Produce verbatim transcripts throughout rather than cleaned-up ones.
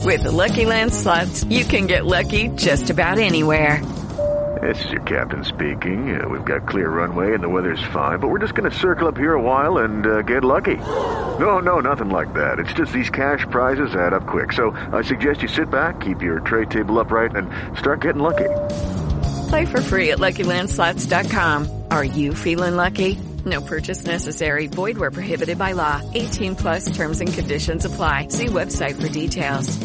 With the Lucky Land Slots, you can get lucky just about anywhere. This is your captain speaking. Uh, we've got clear runway and the weather's fine, but we're just going to circle up here a while and uh, get lucky. No, no, nothing like that. It's just these cash prizes add up quick. So I suggest you sit back, keep your tray table upright, and start getting lucky. Play for free at Lucky Land Slots dot com. Are you feeling lucky? No purchase necessary. Void where prohibited by law. eighteen plus terms and conditions apply. See website for details.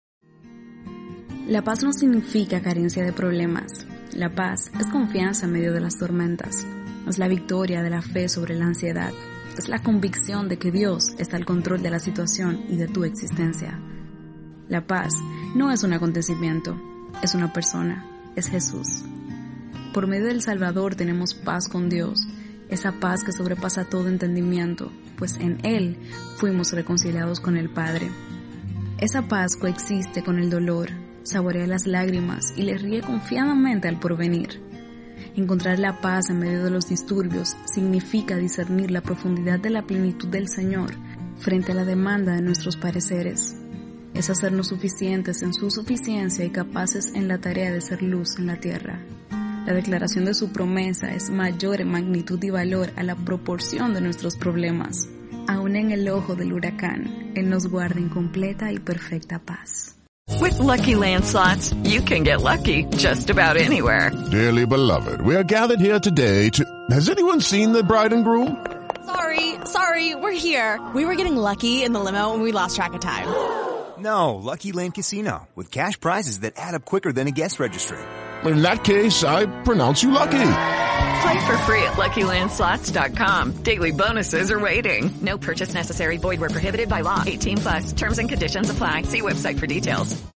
La paz no significa carencia de problemas. La paz es confianza en medio de las tormentas. Es la victoria de la fe sobre la ansiedad. Es la convicción de que Dios está al control de la situación y de tu existencia. La paz no es un acontecimiento, es una persona, es Jesús. Por medio del Salvador tenemos paz con Dios, esa paz que sobrepasa todo entendimiento, pues en Él fuimos reconciliados con el Padre. Esa paz coexiste con el dolor, saborea las lágrimas y le ríe confiadamente al porvenir. Encontrar la paz en medio de los disturbios significa discernir la profundidad de la plenitud del Señor frente a la demanda de nuestros pareceres. Es hacernos suficientes en su suficiencia y capaces en la tarea de ser luz en la tierra. La declaración de su promesa es mayor en magnitud y valor a la proporción de nuestros problemas. Aún en el ojo del huracán, Él nos guarda en completa y perfecta paz. With Lucky Land Slots, you can get lucky just about anywhere. Dearly beloved, we are gathered here today to... Has anyone seen the bride and groom? Sorry, sorry, we're here. We were getting lucky in the limo and we lost track of time. No, Lucky Land Casino, with cash prizes that add up quicker than a guest registry. In that case, I pronounce you lucky. Play for free at Lucky Land Slots dot com. Daily bonuses are waiting. No purchase necessary. Void where prohibited by law. eighteen plus. Terms and conditions apply. See website for details.